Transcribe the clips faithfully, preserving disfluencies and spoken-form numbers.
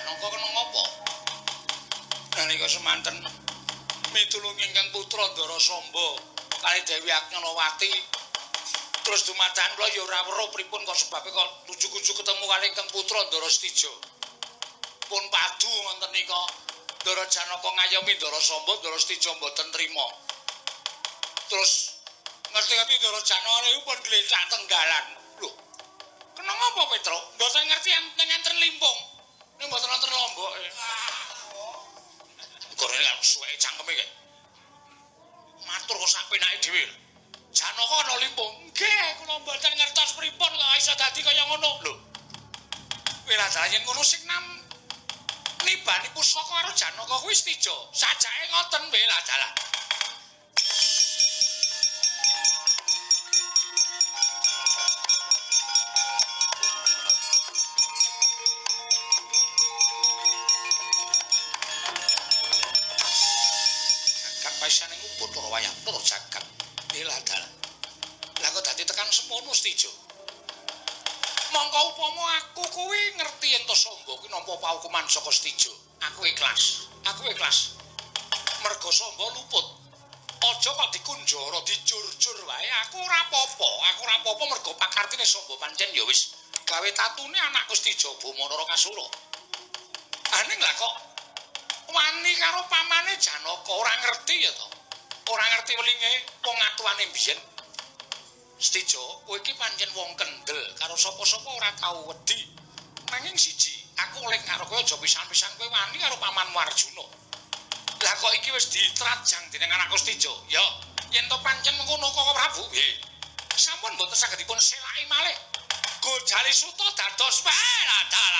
Janaka kena ngapa? Nalika semanten mitulung ingkang putra Ndara Samba kali Dewi Agnanawati terus dumadakan kula ya ora weruh pripun kok sebabe kok ujug-ujug ketemu kali ingkang putra Ndara Stijo. Pun padu wonten nika Ndara Janaka ngayomi Ndara Samba, Ndara Stijo mboten trima. Terus ngerti-ngerti Ndara Janaka niku pun glecak tenggalan. Lho, kena ngapa Petro? Mboten ngerti enten enten limpung. Nek mboten wonten lomboke. Gorene kan suweke cangkeme kek. Matur kok sak penake dhewe. Janaka ana limpung. Nggih, kula mboten ngertos pripun kok iso dadi kaya ngono. Lho. Wiladara yen ngono sing nam nibani pusaka karo Janaka kuwi Stijo. Sajake ngoten Wiladara. Paisane nguput ora wayah tur jagat. Wiladara. Lah kok dadi tekan semono Stijo. Mongko upama aku kuwi ngerti yen to Samba kuwi nampa paukuman saka Stijo. Aku ikhlas. Aku ikhlas. Merga Samba luput. Aja kok dikunjara, dijur-jur wae. Aku ora apa-apa. Aku ora apa-apa merga pakartine Samba pancen ya wis gawe tatune anakku Stijo Bumanara Kasura. Aning lah kok wani karo pamane Janaka ora ngerti ya to. Ora ngerti welinge wong atuane biyen. Stijo, kowe iki pancen wong kendel, karo sapa-sapa ora tau wedi. Nanging siji, aku oleh karo kowe aja pisan-pisan kowe wani karo pamanmu Arjuna. Lah kok iki wis ditrajang dening anakku Stijo. Ya, yen to pancen mengkono kok Prabu, nggih. Sampun mboten saged dipun selaki malih. Gojali Suta dados Wiladara.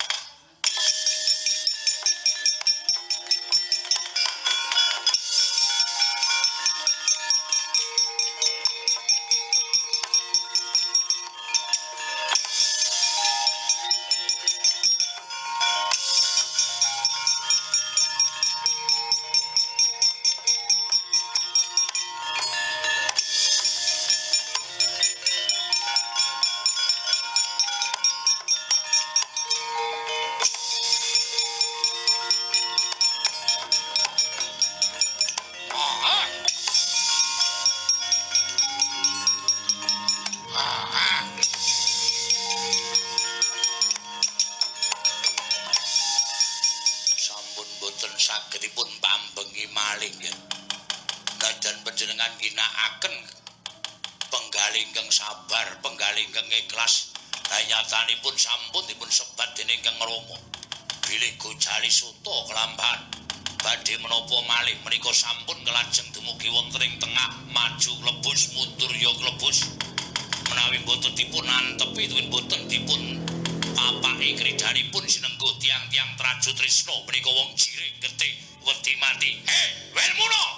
Sagedipun pambengi malih ya. Najan panjenengan ginakaken penggalih ingkang sabar, penggalih ingkang ikhlas. Nyatanipun sampun dipun sebat dening Kang Rama. Bilih Gojali Suta kelambahan badhe menapa malih menika sampun kelajeng dumugi wonten ing tengah, maju klebus mundur ya klebus. Menawi boten dipun antepi tuwin boten dipun papake kridanipun sinenggo tiang-tiang Traju Trisna menika wong jirik getih wedi mati. Eh, Welmuna.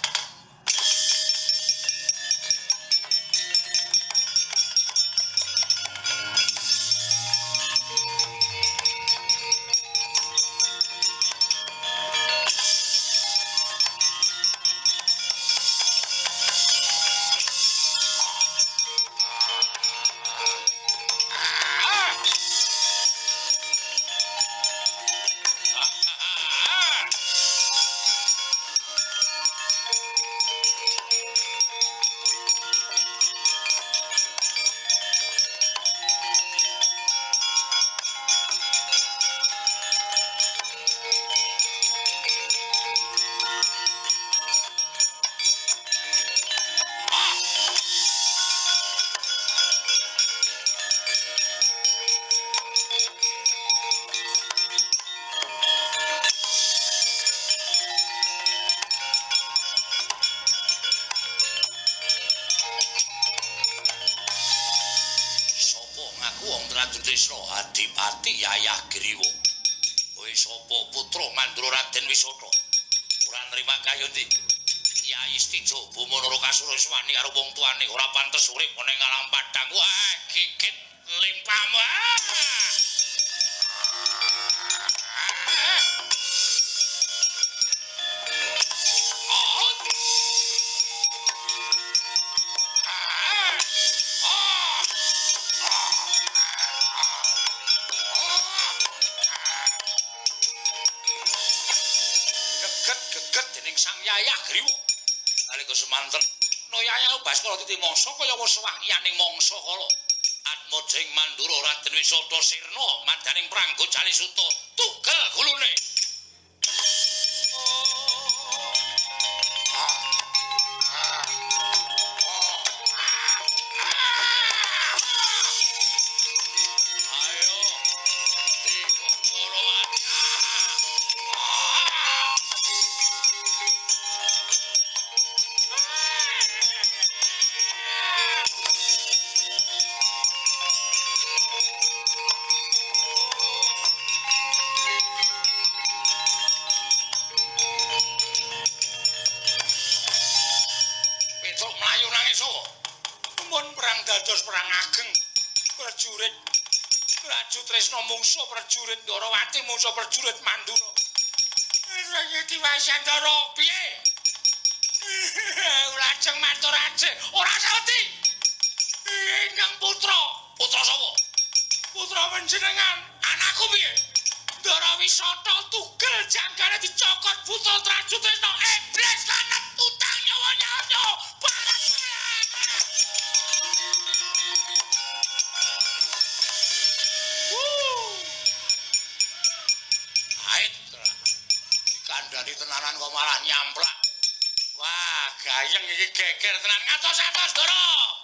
Trisna Adipati Yayah Griwa. Kowe sapa putra Mandura Raden Wisata? Ora nrima kayuti. Kyai Stijo Bumanara Kasura wani karo wong tuane ora pantes urip ning alam padang. Wah, gigit limpamu. Yaya Griwa. Nalika semanten Noyaya Baskara titi mangsa kaya wis wahyaning mangsa kala. Atmajeng Mandura Raden Wisata Sirna madaning prangga Jalisuta tunggal gulune. Dados perang ageng prajurit Raju Tresna mungsuh prajurit Ndarawati mungsuh prajurit Mandura. Raya Diwasandara piye? Lajeng matur ajeng ora saweti. Ingkang putra, putra sapa? Putra panjenengan, anakku piye? Ndarawisata tugel janggane dicokot putra Raju Tresna iblis lanang utang nyawa-nyawa. Kandhani tenanan kok malah nyamplak. Wah, gayeng iki geger tenan ngatos-atos, Ndara.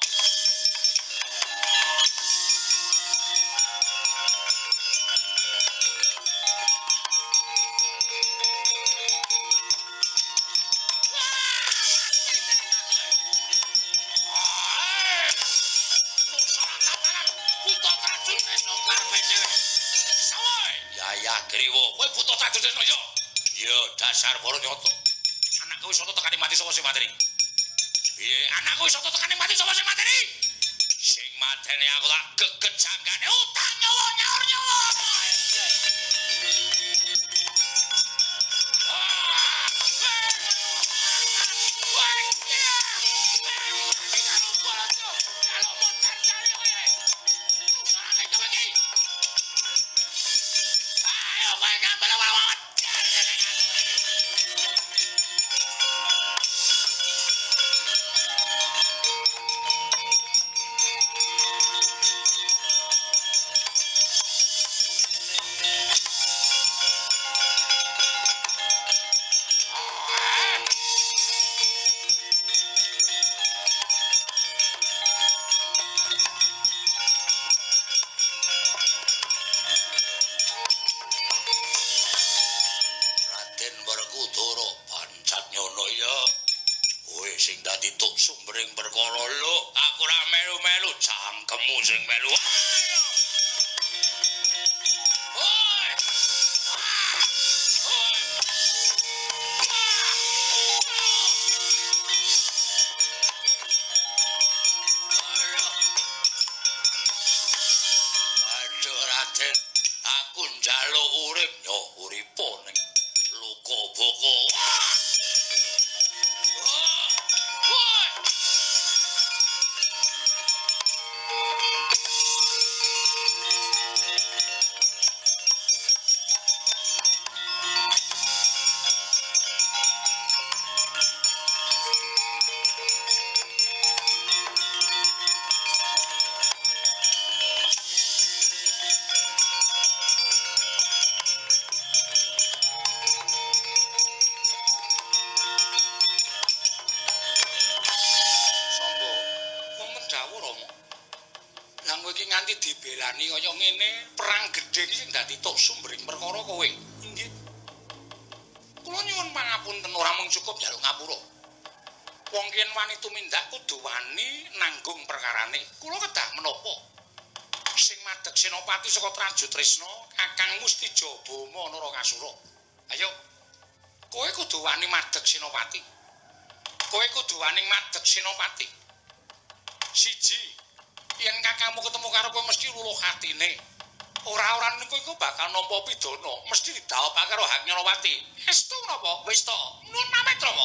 Yaya Griwa, kowe buta Raju Tresna ya? Ya dasar Baranyata. Anakku wis soto tekane mati sapa sing mateni? Piye anakku wis soto tekane mati sapa sing mateni? Sing mateni aku tak geget janggane utang nyawa nyaur nyawa. Sing melu. Aduh Raden, aku njaluk urip yo uripa ning luka boko. Dibelani kaya ngene, perang gedhe iki sing dadi tok sumbering perkara kowe. Inggih. Kula nyuwun pangapunten ora mung cukup njaluk ngapura. Wong yen wani tumindak kudu wani nanggung perkarane. Kula kedah menapa? Sing madheg senopati saka Raju Tresna, Kakang Mustijabama Narakasura. Ayo. Kowe kudu wani madheg senopati. Kowe kudu wani madheg senopati. Siji yen kakangmu ketemu karo kowe mesti luluh atine. Ora-ora niku iku bakal nampa pidana, mesti didhawuhake karo Hak Nyarawati. Estu napa? Wis to. Nuwun pamit, Rama.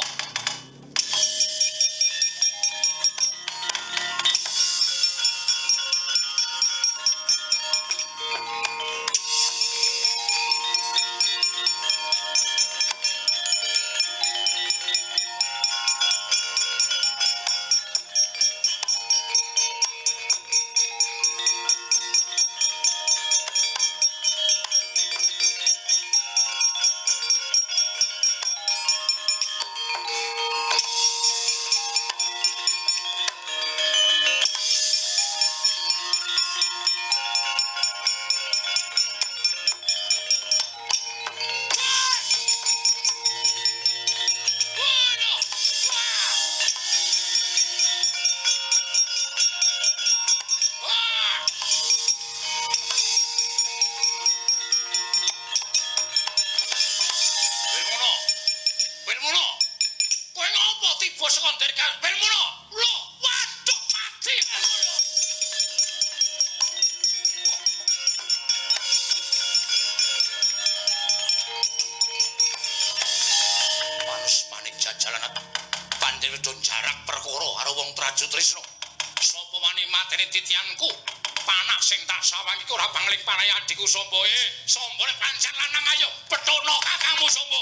Raju Trisno. Sapa wani mateni titianku? Panah sing tak sawang iku ora bangling panahe adikku Sombo. Eh, Sombo nek pancen lanang ayo pethono kakangmu Sombo.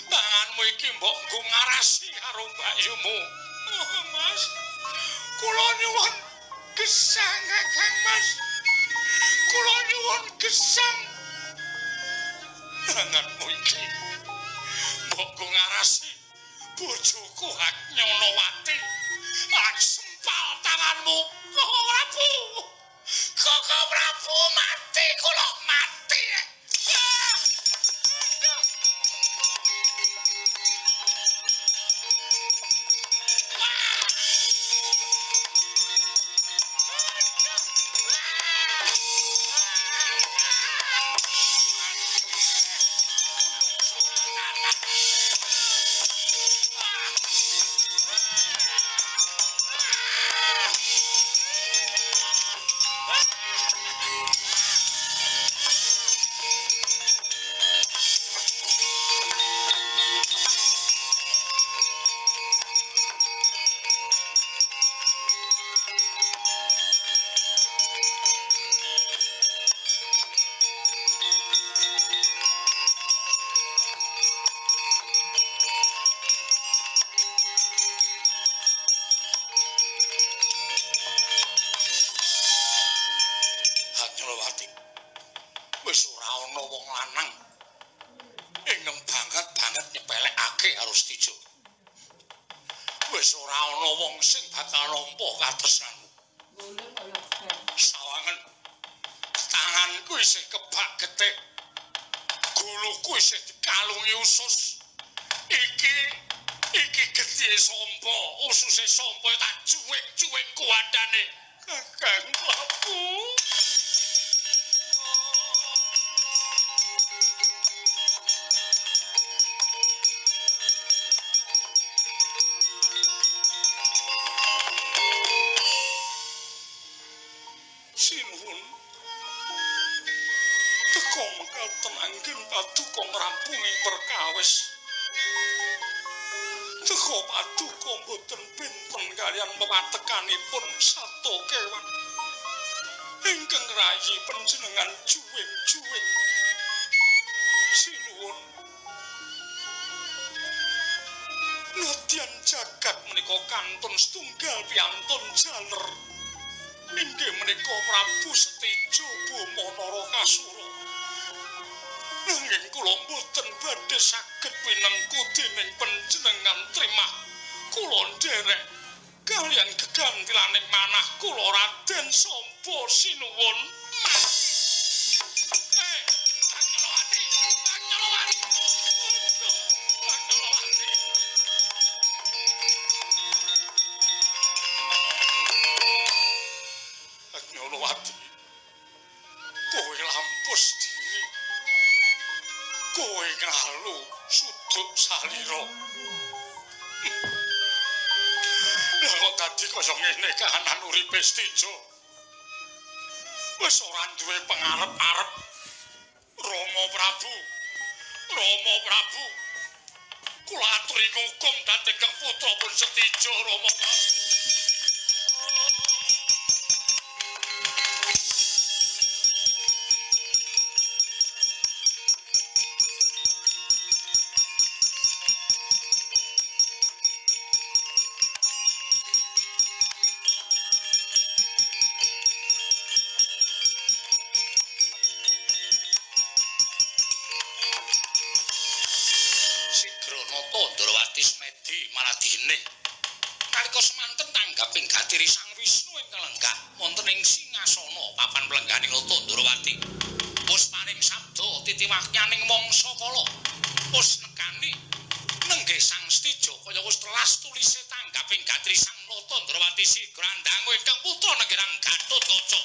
Tanganmu iki mbok nggo ngarasi karo mbayumu. Oh, Mas. Kula nyuwun gesang Kakang Mas. Kula nyuwun gesang. Tanganmu iki mbok nggo ngarasi bojoku Hak Nyonowati. Hak sempal tanganmu. Koko Prabu. Koko Prabu mati kula mati. Ah! Wis ora ana wong lanang ingkang banget-banget nyepelekake karo Stijo. Wis ora ana wong sing bakal nampa katresnanmu. Sawangen tanganku isih kebak getih. Guluku isih dikalungi usus. Iki iki getih sompo, ususe sompo tak cuwing-cuwing kuwandane. Kakang Prabu. Sinuwun teka mekaten anggen paduka ngrampungi perkawis. Teka paduka boten pinten kaliyan pewatekanipun sato kewan ingkang rayi panjenengan juwing-juwing. Sinuwun nadyan jagat menika kantun setunggal piantun jaler. Inggih menika Prabu Setijo Boma Narakasura. Nanging kula mboten badhe saged winengku dening panjenengan trimah kula nderek kaliyan gegantilaning manah kula Raden Samba Sinuwun. Eh, Nyolowati, Nyolowati. Nyolowati, kowe lampus diri, kowe ngalu suduk salira. Lah kok dadi kaya ngene kahanan uripe Stijo. Wis ora duwe pangarep-arep. Rama Prabu, Rama Prabu, kula aturi ngukum dhateng putra pun Setijo Rama Prabu. Ndrawati Smedi Maladine nalika semanten tanggaping gatiri Sang Wisnu ingkang lenggah wonten ing singasana papan plengganing Nata Ndrawati puspaning sabda titiwahyaning mangsa kala pus nekani nenggih Sang Stijo kaya wis telas tulise tanggaping gatiri Sang Nata Ndrawati Sigrandhangu ingkang putra negirang Gatotkaca.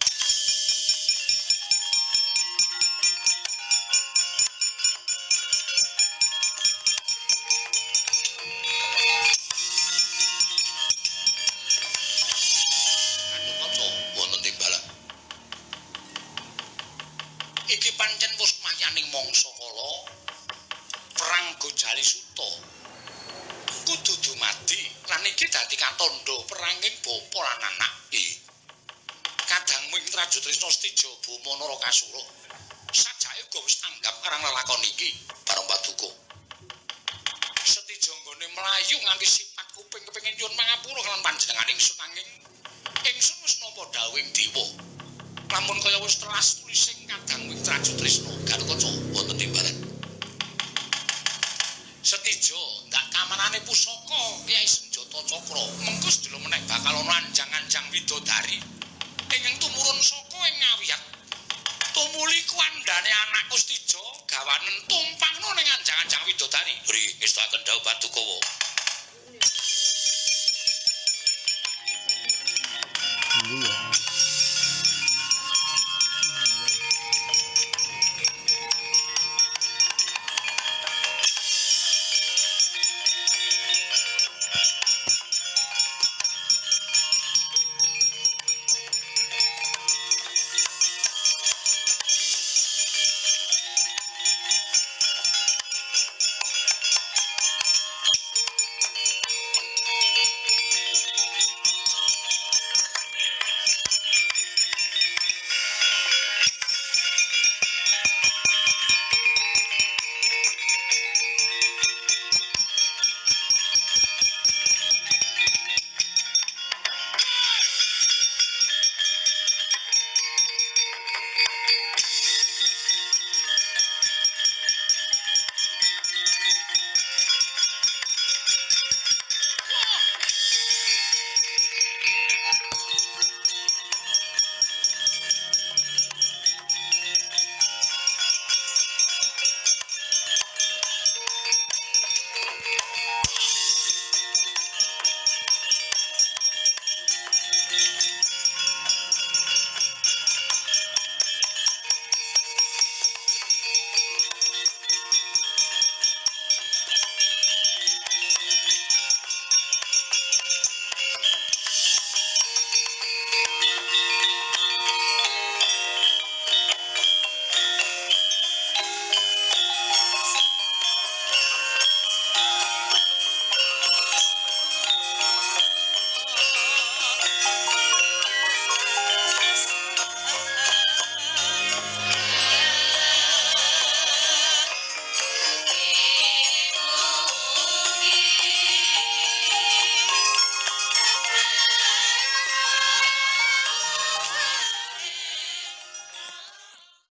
Iki pancen pusmayaning mangsa kala perang Gojali Suta kudu dumadi lan iki dadi katandha peranging bapa lan anak. Kadangmu ing Trajutrisna Stijo Boma Narakasura sajake uga wis tanggap karang lelakon iki bareng Paduka. melayu nganti sipat kuping kepengin nyuwun pangapura kalian panjenengan ingsun anging ingsun wis nampa dawuhing dewa. Lamun kaya wis telas tulising kadang wing Traju Trisna Garukaca wonten timbalan. Setijo ndak kamanane pusaka Kyai Senjata Cakra mengko sedelo meneh bakal ana anjang-anjang widodari ingkang tumurun saka ing Ngawiyat. Tumuli kuandane anakku Setijo gawanen tumpangno ning anjang-anjang widodari. Bri ngestaken dawuh Padukawa.